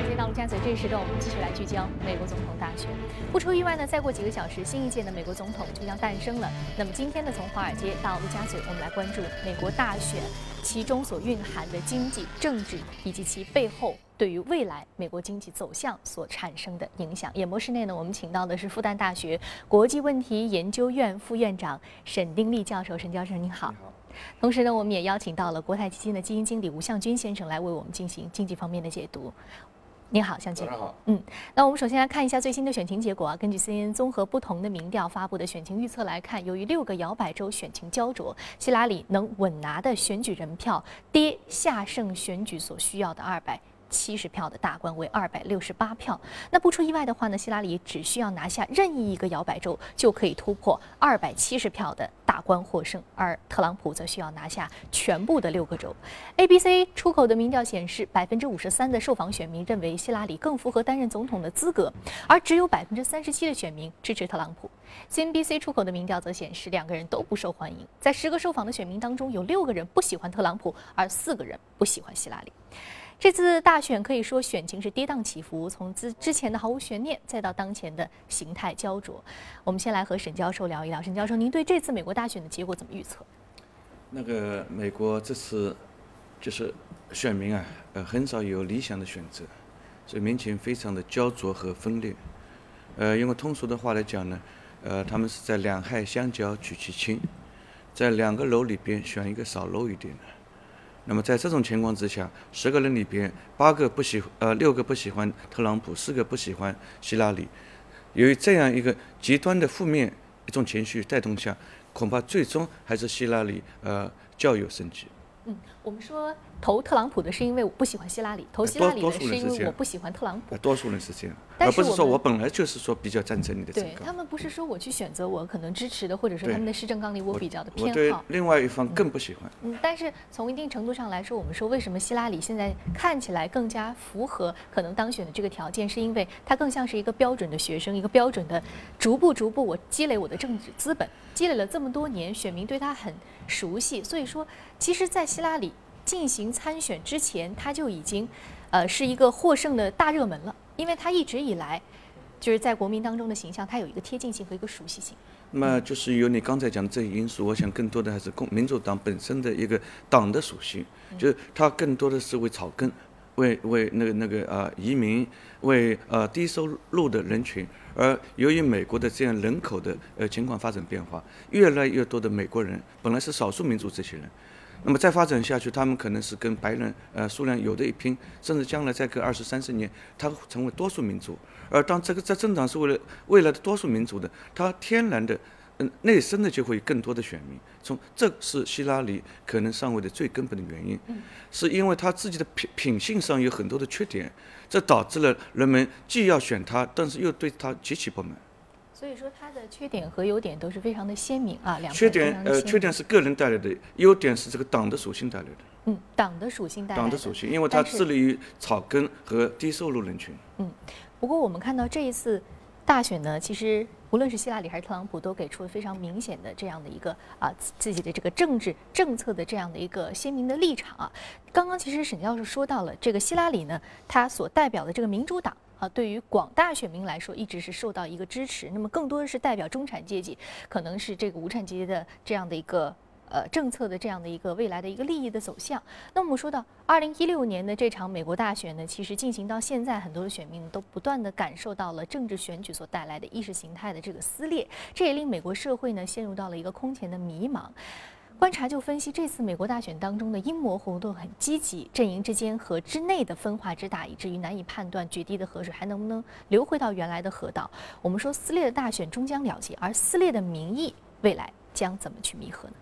尔街到陆家嘴这一时段，我们继续来聚焦美国总统大选。不出意外呢，再过几个小时，新一届的美国总统就将诞生了。那么今天呢，从华尔街到陆家嘴，我们来关注美国大选其中所蕴含的经济、政治以及其背后对于未来美国经济走向所产生的影响。演播室内呢，我们请到的是复旦大学国际问题研究院副院长沈丁立教授。沈教授您好。同时呢，我们也邀请到了国泰基金的基金经理吴向军先生来为我们进行经济方面的解读。您好，向军。 早上好。 那我们首先来看一下最新的选情结果啊。根据 CNN 综合不同的民调发布的选情预测来看，由于6个摇摆州选情焦灼，希拉里能稳拿的选举人票跌下胜选举所需要的270票的大关为268票。那不出意外的话呢，希拉里只需要拿下任意一个摇摆州就可以突破270票的大关获胜，而特朗普则需要拿下全部的6个州。ABC 出口的民调显示，53%的受访选民认为希拉里更符合担任总统的资格，而只有37%的选民支持特朗普。CNBC 出口的民调则显示，两个人都不受欢迎。在10个受访的选民当中，有6个人不喜欢特朗普，而4个人不喜欢希拉里。这次大选可以说选情是跌宕起伏，从之前的毫无悬念，再到当前的形态焦灼。我们先来和沈教授聊一聊。沈教授，您对这次美国大选的结果怎么预测？ 美国这次就是选民啊，很少有理想的选择，所以民情非常的焦灼和分裂。用通俗的话来讲呢，他们是在两害相交取其轻，在2个楼里边选一个少楼一点的。那么在这种情况之下，10个人里边6个不喜欢特朗普，4个不喜欢希拉里。由于这样一个极端的负面一种情绪带动下，恐怕最终还是希拉里较有胜机。 我们说投特朗普的是因为我不喜欢希拉里，投希拉里的是因为我不喜欢特朗普。 多数人是这样， 而不是说我本来就是说比较赞成你的政纲。 对，他们不是说我去选择我可能支持的，或者说他们的施政纲领我比较的偏好。 我对另外一方更不喜欢。 但是从一定程度上来说，我们说为什么希拉里现在看起来更加符合可能当选的这个条件，是因为他更像是一个标准的学生，一个标准的逐步我积累我的政治资本，积累了这么多年，选民对他很熟悉，所以说其实在希拉里进行参选之前，他就已经是一个获胜的大热门了，因为他一直以来就是在国民当中的形象，他有一个贴近性和一个熟悉性。 那么就是由你刚才讲的这些因素，我想更多的还是民主党本身的一个党的属性，就是它更多的是为草根，为移民，为低收入的人群。而由于美国的这样人口的情况发展变化，越来越多的美国人本来是少数民族这些人，那么再发展下去，他们可能是跟白人数量有的一拼，甚至将来再隔20、30年，他会成为多数民族。而当这政党是为了未来的多数民族的，他天然的内生的就会有更多的选民。这是希拉里可能上位的最根本的原因，是因为他自己的品性上有很多的缺点，这导致了人们既要选他，但是又对他极其不满。 所以说，他的缺点和优点都是非常的鲜明啊。 缺点是个人带来的，优点是这个党的属性带来的。 党的属性带来的。 党的属性，因为它致力于草根和低收入人群。 不过我们看到这一次大选呢，其实无论是希拉里还是特朗普，都给出了非常明显的这样的一个自己的这个政治政策的这样的一个鲜明的立场啊。刚刚其实沈教授说到了这个希拉里呢，他所代表的这个民主党。对于广大选民来说，一直是受到一个支持。那么更多的是代表中产阶级，可能是这个无产阶级的这样的一个政策的这样的一个未来的一个利益的走向。那我们说到2016年的这场美国大选呢，其实进行到现在，很多的选民都不断的感受到了政治选举所带来的意识形态的这个撕裂，这也令美国社会呢陷入到了一个空前的迷茫。观察就分析，这次美国大选当中的阴谋活动很积极，阵营之间和之内的分化之大，以至于难以判断决堤的河水还能不能流回到原来的河道。我们说撕裂的大选终将了结，而撕裂的民意未来将怎么去弥合呢？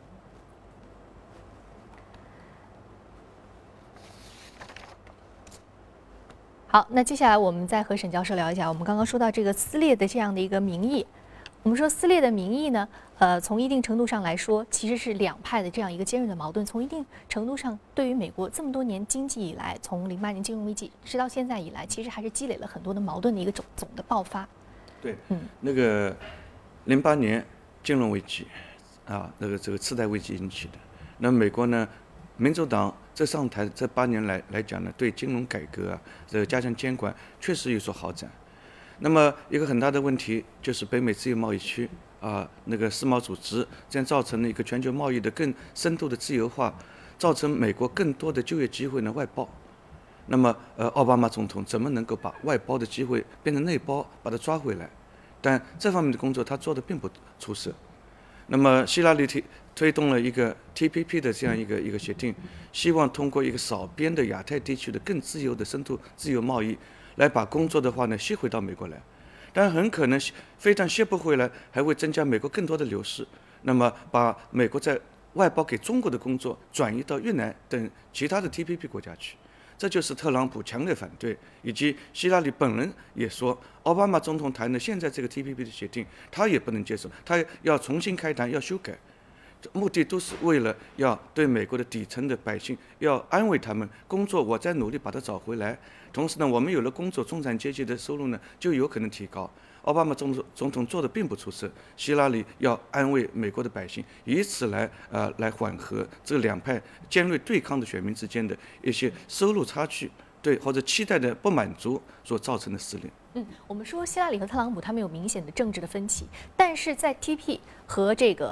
好，那接下来我们再和沈教授聊一下，我们刚刚说到这个撕裂的这样的一个民意。我们说撕裂的民意呢，从一定程度上来说，其实是两派的这样一个尖锐的矛盾。从一定程度上，对于美国这么多年经济以来，从08年金融危机直到现在以来，其实还是积累了很多的矛盾的一个总的爆发。 对，08年金融危机这个次贷危机引起的。那美国呢，民主党这上台这8年来讲呢，对金融改革啊，这个加强监管确实有所好转。那么一个很大的问题就是北美自由贸易区啊，那个世贸组织，这样造成了一个全球贸易的更深度的自由化，造成美国更多的就业机会呢外包。那么奥巴马总统怎么能够把外包的机会变成内包，把它抓回来？但这方面的工作他做的并不出色。那么希拉里推动了一个 TPP 的这样一个协定，希望通过一个少边的亚太地区的更自由的深度自由贸易，来把工作的话呢吸回到美国来。但很可能非但吸不回来，还会增加美国更多的流失。那么把美国在外包给中国的工作转移到越南等其他的 TPP 国家去。这就是特朗普强烈反对，以及希拉里本人也说，奥巴马总统谈的现在这个 TPP 的协定，他也不能接受，他要重新开谈，要修改，目的都是为了要对美国的底层的百姓要安慰他们，工作我在努力把它找回来，同时呢，我们有了工作，中产阶级的收入呢就有可能提高。奥巴马总统做的并不出色，希拉里要安慰美国的百姓，以此来缓和这两派尖锐对抗的选民之间的一些收入差距，对或者期待的不满足所造成的撕裂。 我们说希拉里和特朗普他们有明显的政治的分歧，但是在 TP 和这个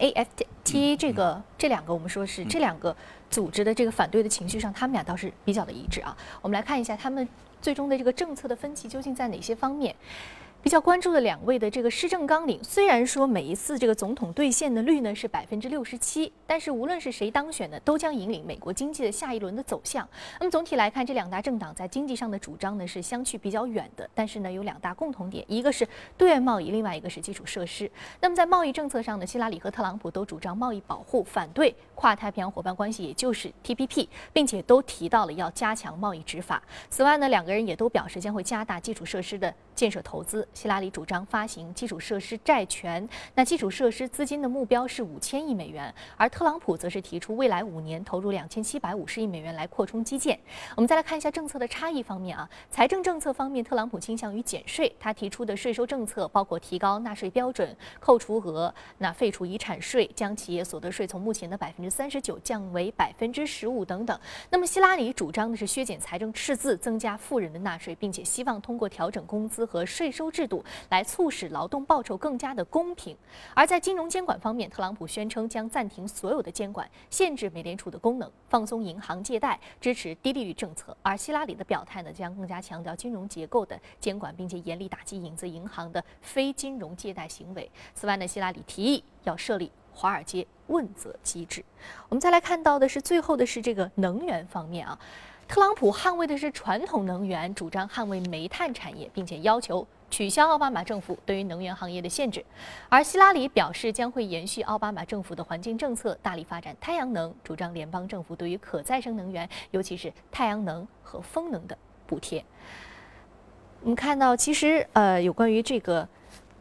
NAFTA 这两个我们说是这两个组织的这个反对的情绪上，他们俩倒是比较的一致啊。我们来看一下他们最终的这个政策的分歧究竟在哪些方面。比较关注的2位的这个施政纲领，虽然说每一次这个总统兑现的率呢是67%，但是无论是谁当选呢，都将引领美国经济的下一轮的走向。那么总体来看，这2大政党在经济上的主张呢是相去比较远的，但是呢有2大共同点，一个是对外贸易，另外一个是基础设施。那么在贸易政策上呢，希拉里和特朗普都主张贸易保护，反对跨太平洋伙伴关系，也就是 TPP， 并且都提到了要加强贸易执法。此外呢，2个人也都表示将会加大基础设施的建设投资。希拉里主张发行基础设施债权，那基础设施资金的目标是5000亿美元，而特朗普则是提出未来5年投入2750亿美元来扩充基建。我们再来看一下政策的差异方面啊，财政政策方面，特朗普倾向于减税，他提出的税收政策包括提高纳税标准、扣除额、废除遗产税、将企业所得税从目前的39%降为15%等等。那么希拉里主张的是削减财政赤字，增加富人的纳税，并且希望通过调整工资和税收制度来促使劳动报酬更加的公平。而在金融监管方面，特朗普宣称将暂停所有的监管，限制美联储的功能，放松银行借贷，支持低利率政策。而希拉里的表态呢，将更加强调金融结构的监管，并且严厉打击影子银行的非金融借贷行为。此外呢，希拉里提议要设立华尔街问责机制。我们再来看到的是最后的是这个能源方面啊。特朗普捍卫的是传统能源，主张捍卫煤炭产业，并且要求取消奥巴马政府对于能源行业的限制。而希拉里表示将会延续奥巴马政府的环境政策，大力发展太阳能，主张联邦政府对于可再生能源，尤其是太阳能和风能的补贴。我们看到，其实有关于这个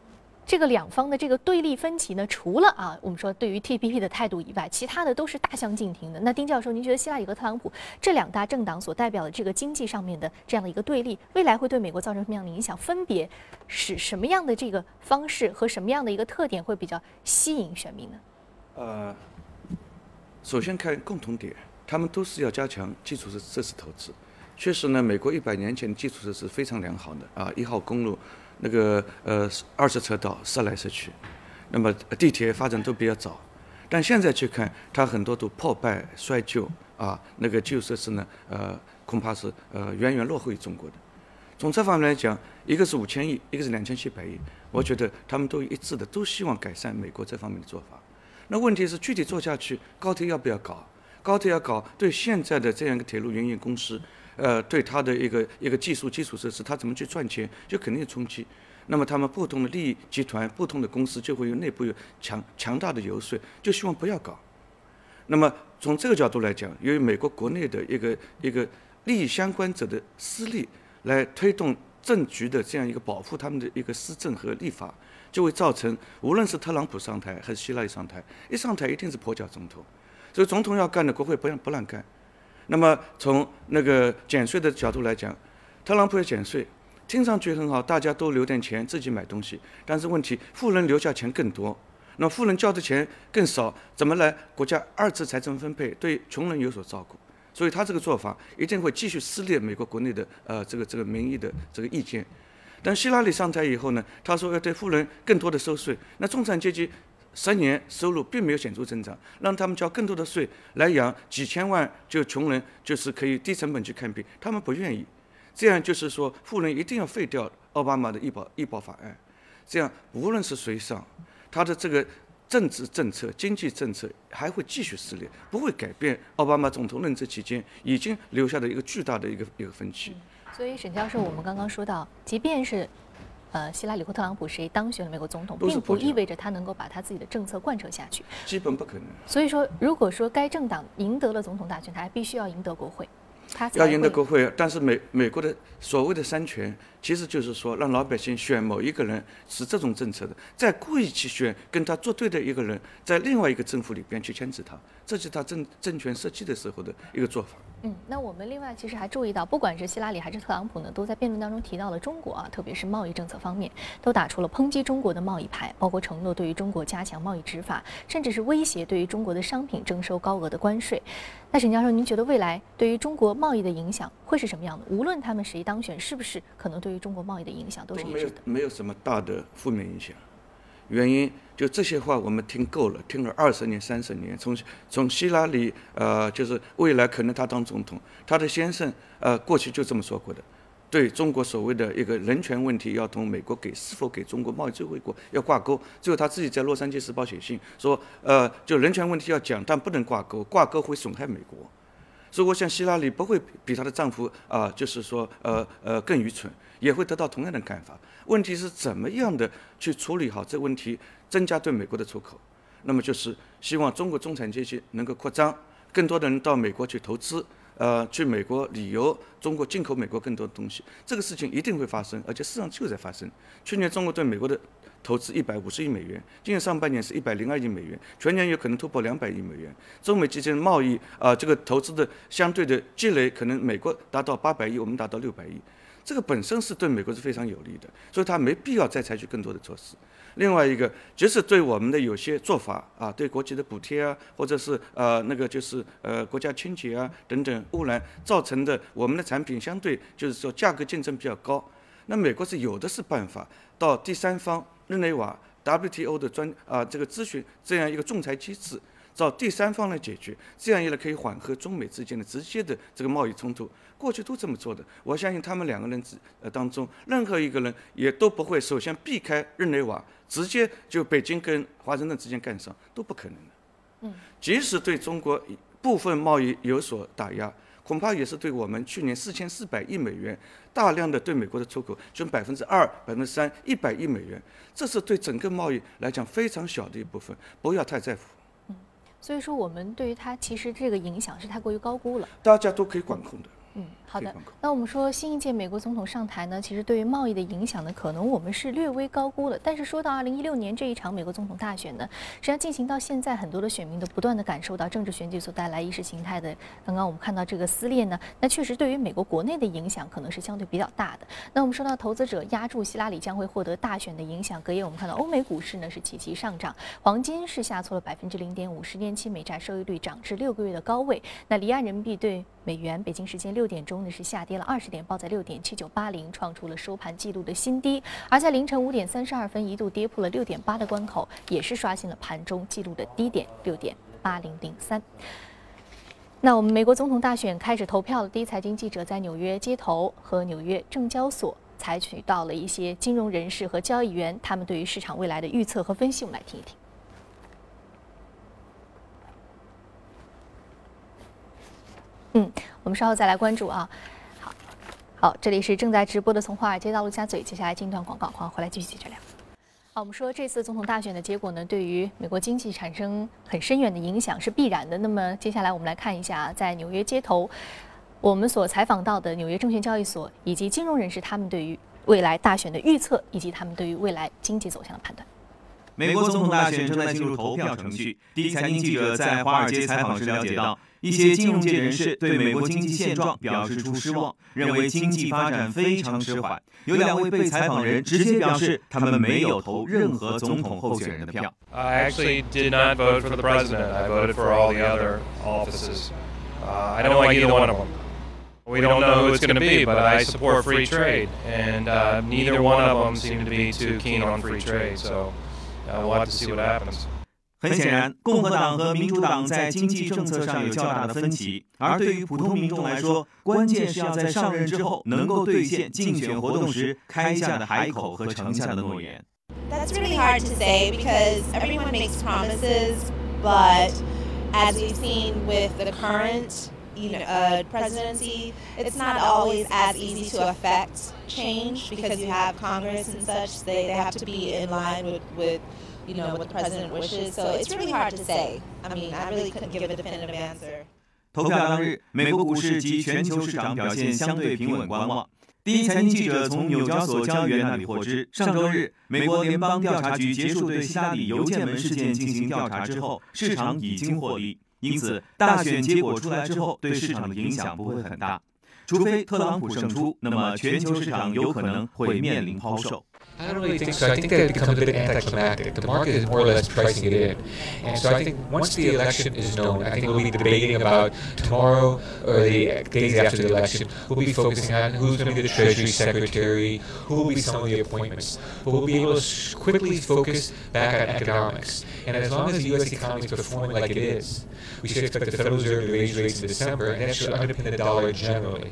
2方的这个对立分歧呢，除了我们说对于 TPP 的态度以外，其他的都是大相径庭的。那丁教授，您觉得希拉里和特朗普这2大政党所代表的这个经济上面的这样的一个对立，未来会对美国造成什么样的影响？分别是什么样的这个方式和什么样的一个特点会比较吸引选民呢？ 首先看共同点，他们都是要加强基础设施投资。确实呢，美国100年前的基础设施非常良好的啊，1号公路。那个20车道塞来塞去，那么地铁发展都比较早，但现在去看，它很多都破败衰旧啊，那个基础设施呢，恐怕是远远落后于中国的。从这方面来讲，一个是5000亿，一个是2700亿，我觉得他们都一致的，都希望改善美国这方面的做法。那问题是具体做下去，高铁要不要搞？高铁要搞，对现在的这样一个铁路营运公司。对它的一个基础设施，它怎么去赚钱，就肯定有冲击。那么他们不同的利益集团、不同的公司就会有内部有强大的游说，就希望不要搞。那么从这个角度来讲，由于美国国内的一个利益相关者的私利来推动政局的这样一个保护他们的一个施政和立法，就会造成无论是特朗普上台还是希拉里上台，一上台一定是跛脚总统，所以总统要干的，国会不让干。那么从那个减税的角度来讲，特朗普要减税，听上去很好，大家都留点钱自己买东西，但是问题富人留下钱更多，那富人交的钱更少，怎么来国家2次财政分配，对穷人有所照顾？ 所以他这个做法一定会继续撕裂美国国内的这个民意的这个意见。但希拉里上台以后呢，他说要对富人更多的收税，那中产阶级10年收入并没有显著增长，让他们交更多的税来养几千万就穷人，就是可以低成本去看病，他们不愿意。这样就是说，富人一定要废掉奥巴马的医保法案，这样无论是谁上，他的这个政治政策、经济政策还会继续撕裂，不会改变奥巴马总统任职期间已经留下的一个巨大的一个分歧。 所以沈教授，我们刚刚说到，即便是希拉里或特朗普谁当选了美国总统，并不意味着他能够把他自己的政策贯彻下去， 基本不可能。 所以说，如果说该政党赢得了总统大选，他还必须要赢得国会。 要赢得国会，但是美国的所谓的三权，其实就是说让老百姓选某一个人是这种政策的，再故意去选跟他作对的一个人，在另外一个政府里边去牵制他，这是他政权设计的时候的一个做法。 那我们另外其实还注意到，不管是希拉里还是特朗普呢，都在辩论当中提到了中国特别是贸易政策方面，都打出了抨击中国的贸易牌，包括承诺对于中国加强贸易执法，甚至是威胁对于中国的商品征收高额的关税。那沈教授，您觉得未来对于中国贸易的影响会是什么样的？无论他们谁当选，是不是可能对于中国贸易的影响都是一致的？ 没有什么大的负面影响。原因就这些话我们听够了，听了20年、30年。从希拉里就是未来可能他当总统，他的先生过去就这么说过的，对中国所谓的一个人权问题要同美国是否给中国贸易最惠国要挂钩。最后他自己在《洛杉矶时报》写信说，就人权问题要讲，但不能挂钩，挂钩会损害美国。所以我想希拉里不会比她的丈夫就是说更愚蠢，也会得到同样的看法。问题是怎么样的去处理好这个问题，增加对美国的出口。那么就是希望中国中产阶级能够扩张，更多的人到美国去投资，去美国旅游，中国进口美国更多的东西，这个事情一定会发生，而且事实上就在发生。去年中国对美国的投资150亿美元，今年上半年是102亿美元，全年有可能突破200亿美元。中美之间的贸易这个投资的相对的积累，可能美国达到800亿，我们达到600亿。这个本身是对美国是非常有利的，所以他没必要再采取更多的措施。另外一个，即使对我们的有些做法对国际的补贴或者是那个就是国家清洁等等污染造成的，我们的产品相对就是说价格竞争比较高，那美国是有的是办法到第三方日内瓦 WTO 的这个咨询这样一个仲裁机制，找第三方来解决，这样一来可以缓和中美之间的直接的这个贸易冲突。过去都这么做的，我相信他们2个人当中，任何一个人也都不会首先避开日内瓦，直接就北京跟华盛顿之间干上，都不可能的。即使对中国部分贸易有所打压，恐怕也是对我们去年4400亿美元大量的对美国的出口，就2%、3%100亿美元，这是对整个贸易来讲非常小的一部分，不要太在乎。 所以说我们对于它其实这个影响是太过于高估了， 大家都可以管控的。 好的。那我们说新一届美国总统上台呢，其实对于贸易的影响呢，可能我们是略微高估了。但是说到2016年这一场美国总统大选呢，实际上进行到现在，很多的选民都不断的感受到政治选举所带来意识形态的，刚刚我们看到这个撕裂呢，那确实对于美国国内的影响可能是相对比较大的。那我们说到投资者押注希拉里将会获得大选的影响，隔夜我们看到欧美股市呢是齐齐上涨，黄金是下挫了0.5%，10年期美债收益率涨至6个月的高位。那离岸人民币对美元，北京时间6点钟呢是下跌了20点，报在6.7980，创出了收盘纪录的新低。而在凌晨5点32分，一度跌破了6.8的关口，也是刷新了盘中纪录的低点6.8003。那我们美国总统大选开始投票了，第一财经记者在纽约街头和纽约证交所采取到了一些金融人士和交易员他们对于市场未来的预测和分析，我们来听一听。我们稍后再来关注啊。好，这里是正在直播的从华尔街到陆家嘴，接下来进一段广告，欢迎回来继续接着聊。好，我们说这次总统大选的结果呢，对于美国经济产生很深远的影响是必然的。那么接下来我们来看一下，在纽约街头，我们所采访到的纽约证券交易所以及金融人士他们对于未来大选的预测，以及他们对于未来经济走向的判断。 美国总统大选正在进入投票程序。第一财经记者在华尔街采访时了解到，一些金融界人士对美国经济现状表示出失望，认为经济发展非常迟缓。有2位被采访人直接表示，他们没有投任何总统候选人的票。 I actually did not vote for the president. I voted for all the other offices. I don't like either one of them. We don't know who it's going to be, but I support free trade, and neither one of them seem to be too keen on free trade, so we'll have to see what happens. 很显然，共和党和民主党在经济政策上有较大的分歧，而对于普通民众来说，关键是要在上任之后能够兑现竞选活动时开下的海口和承下的诺言。 That's really hard to say because everyone makes promises, but as we've seen with the current presidency, it's not always as easy to affect change because you have Congress and such. They have to be in line with what the president wishes. So it's really hard to say. I mean, I really couldn't give a definitive answer. 投票当日，美国股市及全球市场表现相对平稳观望。第一财经记者从纽交所交易员那里获知，上周日，美国联邦调查局结束对希拉里邮件门事件进行调查之后，市场已经获利，因此大选结果出来之后，对市场的影响不会很大。除非特朗普胜出，那么全球市场有可能会面临抛售。 I don't really think so. I think that it becomes a bit anticlimactic. The market is more or less pricing it in. And so I think once the election is known, I think we'll be debating about tomorrow or the days after the election. We'll be focusing on who's going to be the Treasury Secretary, who will be some of the appointments. But we'll be able to quickly focus back on economics. And as long as the U.S. economy is performing like it is, we should expect the Federal Reserve to raise rates in December, and that should underpin the dollar generally.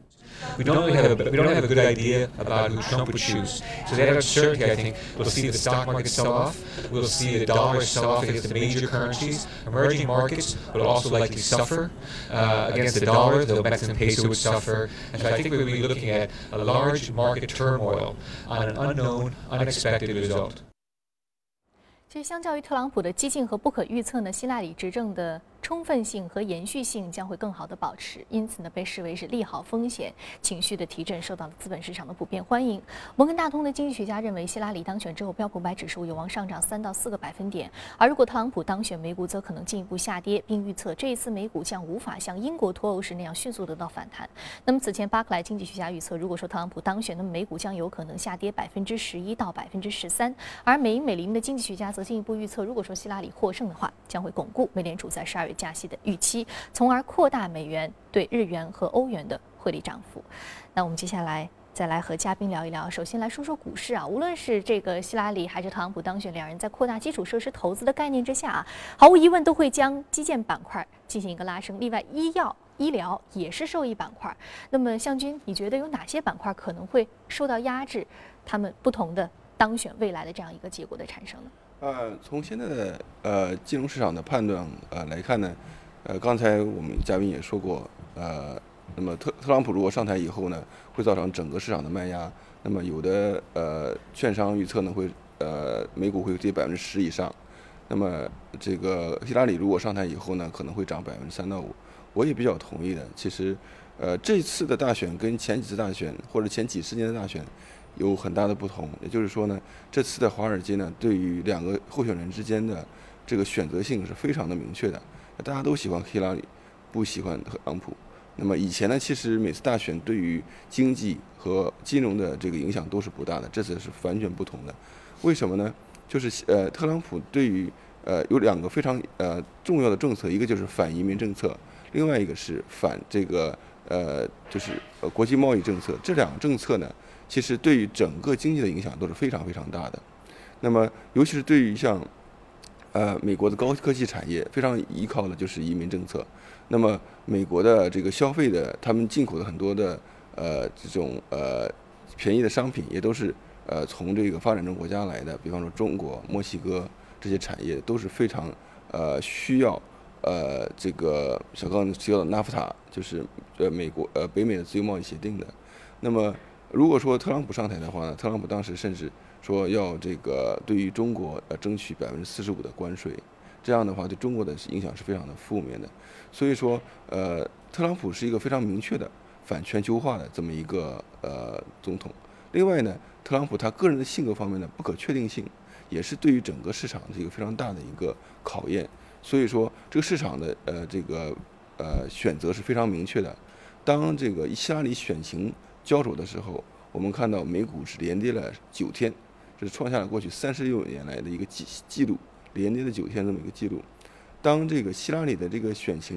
We don't have a good idea about who Trump would choose. So that uncertainty, I think, we'll see the stock market sell off. We'll see the dollar sell off against the major currencies. Emerging markets will also likely suffer against the dollar. The Mexican peso would suffer. And so I think we'll be looking at a large market turmoil on an unknown, unexpected result. 其实，相较于特朗普的激进和不可预测呢，希拉里执政的充分性和延续性将会更好的保持，因此呢，被视为是利好风险情绪的提振，受到了资本市场的普遍欢迎。摩根大通的经济学家认为，希拉里当选之后，标普500指数有望上涨3到4个百分点，而如果特朗普当选，美股则可能进一步下跌，并预测这一次美股将无法像英国脱欧时那样迅速得到反弹。那么此前，巴克莱经济学家预测，如果说特朗普当选，那么美股将有可能下跌11%到13%，而美银美林的经济学家则进一步预测，如果说希拉里获胜的话，将会巩固美联储在12月加息的预期，从而扩大美元对日元和欧元的汇率涨幅。那我们接下来再来和嘉宾聊一聊。首先来说说股市啊，无论是这个希拉里还是特朗普当选，两人在扩大基础设施投资的概念之下啊，毫无疑问都会将基建板块进行一个拉升。例外，医疗也是受益板块。那么向军，你觉得有哪些板块可能会受到压制？他们不同的当选未来的这样一个结果的产生呢？ 从现在的金融市场的判断来看呢，刚才我们嘉宾也说过，那么特朗普如果上台以后呢，会造成整个市场的卖压。那么有的券商预测呢会美股会跌10%以上。那么这个希拉里如果上台以后呢，可能会涨3%到5%。我也比较同意的。其实这次的大选跟前几次大选或者前几十年的大选有很大的不同，也就是说呢，这次的华尔街呢，对于两个候选人之间的这个选择性是非常的明确的。大家都喜欢希拉里，不喜欢特朗普。那么以前呢，其实每次大选对于经济和金融的这个影响都是不大的，这次是完全不同的。为什么呢？就是特朗普对于有两个非常重要的政策，一个就是反移民政策，另外一个是反这个就是国际贸易政策。这两个政策呢，其实对于整个经济的影响都是非常非常大的。那么，尤其是对于像美国的高科技产业，非常依靠的就是移民政策。那么，美国的这个消费的，他们进口的很多的这种便宜的商品，也都是从这个发展中国家来的，比方说中国、墨西哥这些产业都是非常需要这个小刚提到的纳夫塔，就是美国北美的自由贸易协定的。那么如果说特朗普上台的话呢，特朗普当时甚至说要这个对于中国争取45%的关税，这样的话对中国的影响是非常的负面的。所以说特朗普是一个非常明确的反全球化的这么一个总统。另外呢，特朗普他个人的性格方面的不可确定性，也是对于整个市场的一个非常大的一个考验。所以说这个市场的这个选择是非常明确的。当这个希拉里选情交手的时候，我们看到美股是连跌了9天，这是创下了过去36年来的一个记录，连跌了9天这么一个记录。当这个希拉里的这个选情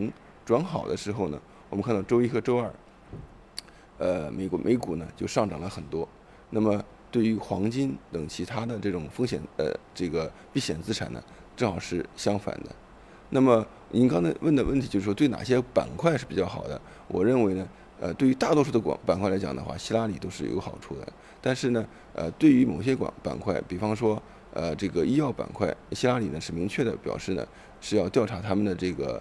转好的时候呢，我们看到周一和周二，美股呢就上涨了很多。那么对于黄金等其他的这种风险这个避险资产呢，正好是相反的。那么您刚才问的问题就是说，对哪些板块是比较好的？我认为呢，对于大多数的板块来讲的话，希拉里都是有好处的。但是呢，对于某些板块，比方说这个医药板块，希拉里呢是明确的表示呢是要调查他们的这个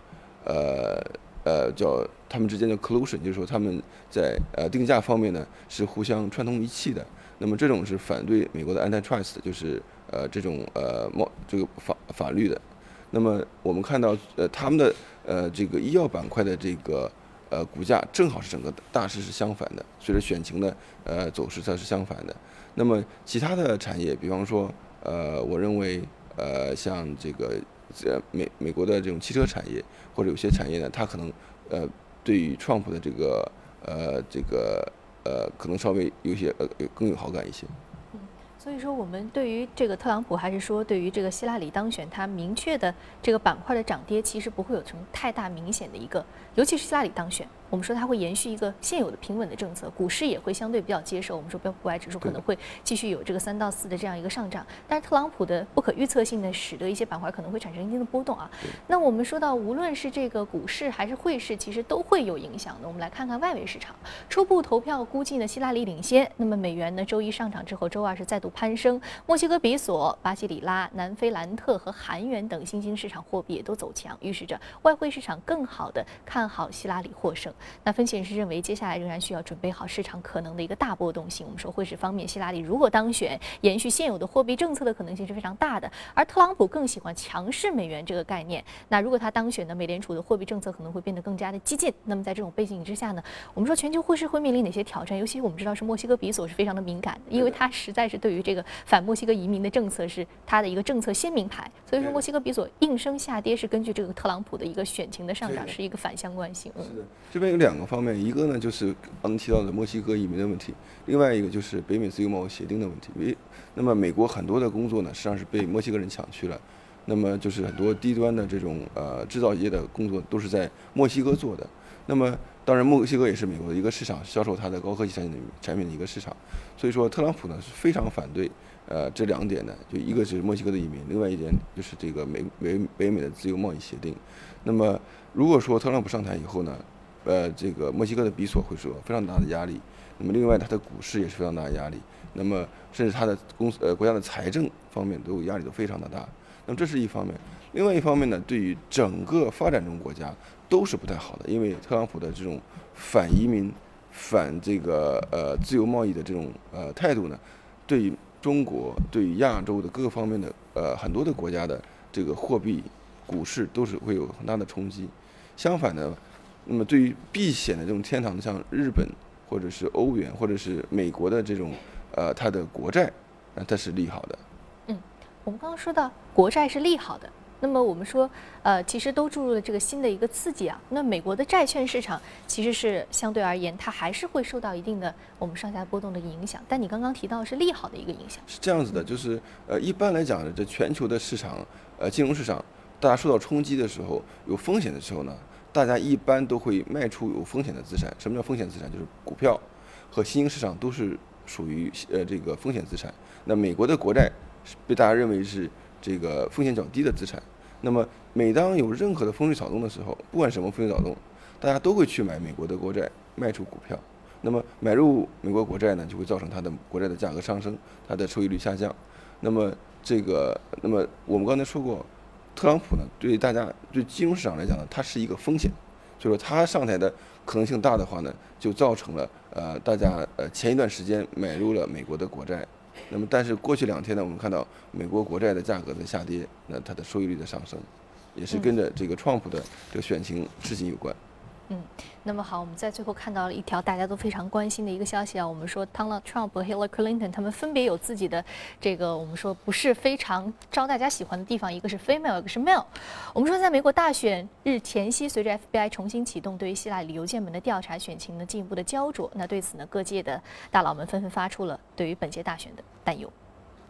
叫他们之间的 collusion， 就是说他们在定价方面呢是互相串通一气的。那么这种是反对美国的 antitrust， 就是这种这个法律的。那么我们看到他们的这个医药板块的这个股价正好是整个大势是相反的，随着选情的走势它是相反的。那么其他的产业，比方说我认为像这个美国的这种汽车产业，或者有些产业呢，它可能对于 Trump 的这个可能稍微有些更有好感一些。 所以说，我们对于这个特朗普，还是说对于这个希拉里当选，它明确的这个板块的涨跌，其实不会有什么太大明显的一个，尤其是希拉里当选，我们说它会延续一个现有的平稳的政策，股市也会相对比较接受。我们说标普500指数可能会继续有这个3到4的这样一个上涨，但是特朗普的不可预测性呢，使得一些板块可能会产生一定的波动啊。那我们说到，无论是这个股市还是汇市，其实都会有影响的。我们来看看外围市场，初步投票估计呢，希拉里领先。那么美元呢，周一上涨之后，周二是再度攀升。墨西哥比索、巴西里拉、南非兰特和韩元等新兴市场货币也都走强，预示着外汇市场更好的看好希拉里获胜。那分析人士认为，接下来仍然需要准备好市场可能的一个大波动性。我们说汇市方面，希拉里如果当选，延续现有的货币政策的可能性是非常大的，而特朗普更喜欢强势美元这个概念。那如果他当选呢，美联储的货币政策可能会变得更加的激进。那么在这种背景之下呢，我们说全球汇市会面临哪些挑战？尤其我们知道是墨西哥比索是非常的敏感的，因为它实在是对于这个反墨西哥移民的政策是它的一个政策鲜明牌，所以说墨西哥比索应声下跌是根据这个特朗普的一个选情的上涨是一个反相关性。 是的，这边有2个方面，一个呢就是刚才提到的墨西哥移民的问题，另外一个就是北美自由贸易协定的问题。那么美国很多的工作呢，实际上是被墨西哥人抢去了。那么就是很多低端的这种制造业的工作都是在墨西哥做的。那么当然，墨西哥也是美国的一个市场，销售它的高科技产品的一个市场。所以说，特朗普呢是非常反对这2点的，就一个是墨西哥的移民，另外一点就是这个北美的自由贸易协定。那么如果说特朗普上台以后呢，这个墨西哥的比索会受到非常大的压力，那么另外它的股市也是非常大的压力，那么甚至它的国家的财政方面都有压力，都非常的大。那么这是一方面，另外一方面呢，对于整个发展中国家都是不太好的，因为特朗普的这种反移民、反这个自由贸易的这种态度呢，对于中国、对于亚洲的各个方面的很多的国家的这个货币、股市都是会有很大的冲击。相反呢，那么对于避险的这种天堂，像日本或者是欧元或者是美国的这种它的国债，它是利好的。 我们刚刚说到国债是利好的，那么我们说其实都注入了这个新的一个刺激啊。那美国的债券市场其实是相对而言，它还是会受到一定的我们上下波动的影响。但你刚刚提到是利好的一个影响， 是这样子的，就是一般来讲呢，这全球的市场金融市场，大家受到冲击的时候，有风险的时候呢，大家一般都会卖出有风险的资产。什么叫风险资产？就是股票和新兴市场都是属于这个风险资产。那美国的国债被大家认为是这个风险较低的资产。那么每当有任何的风吹草动的时候，不管什么风吹草动，大家都会去买美国的国债，卖出股票。那么买入美国国债呢，就会造成它的国债的价格上升，它的收益率下降。那么我们刚才说过，特朗普呢对金融市场来讲呢，它是一个风险，所以说他上台的可能性大的话呢，就造成了大家前一段时间买入了美国的国债。那么，但是过去2天呢，我们看到美国国债的价格在下跌，那它的收益率的上升，也是跟着这个川普的这个选情事情有关。 那么好，我们在最后看到了一条大家都非常关心的一个消息啊，我们说 Donald Trump 和 Hillary Clinton 他们分别有自己的这个我们说不是非常招大家喜欢的地方，一个是 female， 一个是 male。我们说在美国大选日前夕，随着 FBI 重新启动对于希拉里邮件门的调查，选情呢进一步的焦灼。那对此呢，各界的大佬们纷纷发出了对于本届大选的担忧。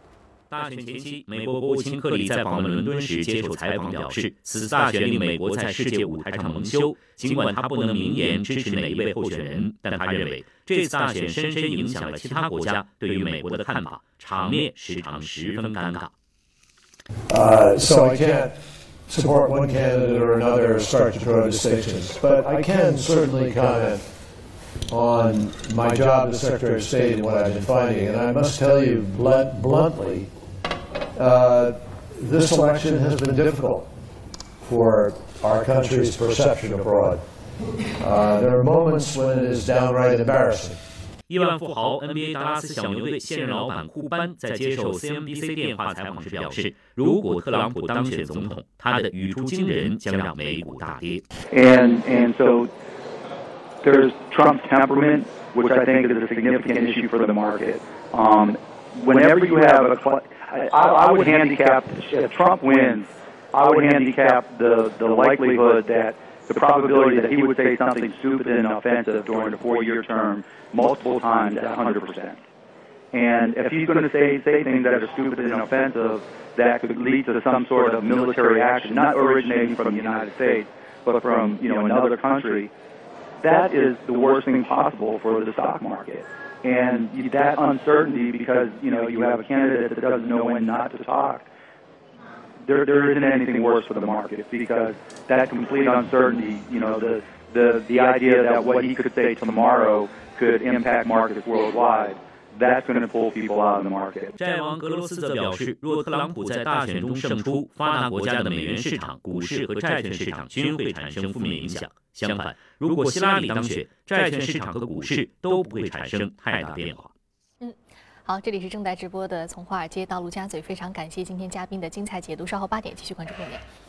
大选前夕，美国国务卿克里在访问伦敦时接受采访表示，此次大选令美国在世界舞台上蒙羞。尽管他不能明言支持哪一位候选人，但他认为这次大选深深影响了其他国家对于美国的看法，场面时常十分尴尬。 So I can't support one candidate or another or start to draw distinctions, but I can certainly comment on my job as Secretary of State and what I've been finding. And I must tell you bluntly, this election has been difficult for our country's perception abroad. There are moments when it is downright embarrassing. 亿万富豪 NBA 达拉斯小牛队现任老板库班在接受 CNBC 电话采访时表示，如果特朗普当选总统，他的语出惊人将让美股大跌。 And so there's Trump's temperament, which I think is a significant issue for the market. Whenever you have I would handicap, if Trump wins, I would handicap the likelihood that the probability that he would say something stupid and offensive during a 4-year term multiple times at 100%. And if he's going to say things that are stupid and offensive that could lead to some sort of military action, not originating from the United States, but from another country, that is the worst thing possible for the stock market. And that uncertainty, because you have a candidate that doesn't know when not to talk, there isn't anything worse for the market, because that complete uncertainty, the idea that what he could say tomorrow could impact markets worldwide, that's going to pull people out of the market. 债王格罗斯则表示，若特朗普在大选中胜出，发达国家的美元市场、股市和债券市场均会产生负面影响。相反，如果希拉里当选，债券市场和股市都不会产生太大变化。 好，这里是正在直播的《从华尔街到陆家嘴》，非常感谢今天嘉宾的精彩解读。稍后8点继续关注重点。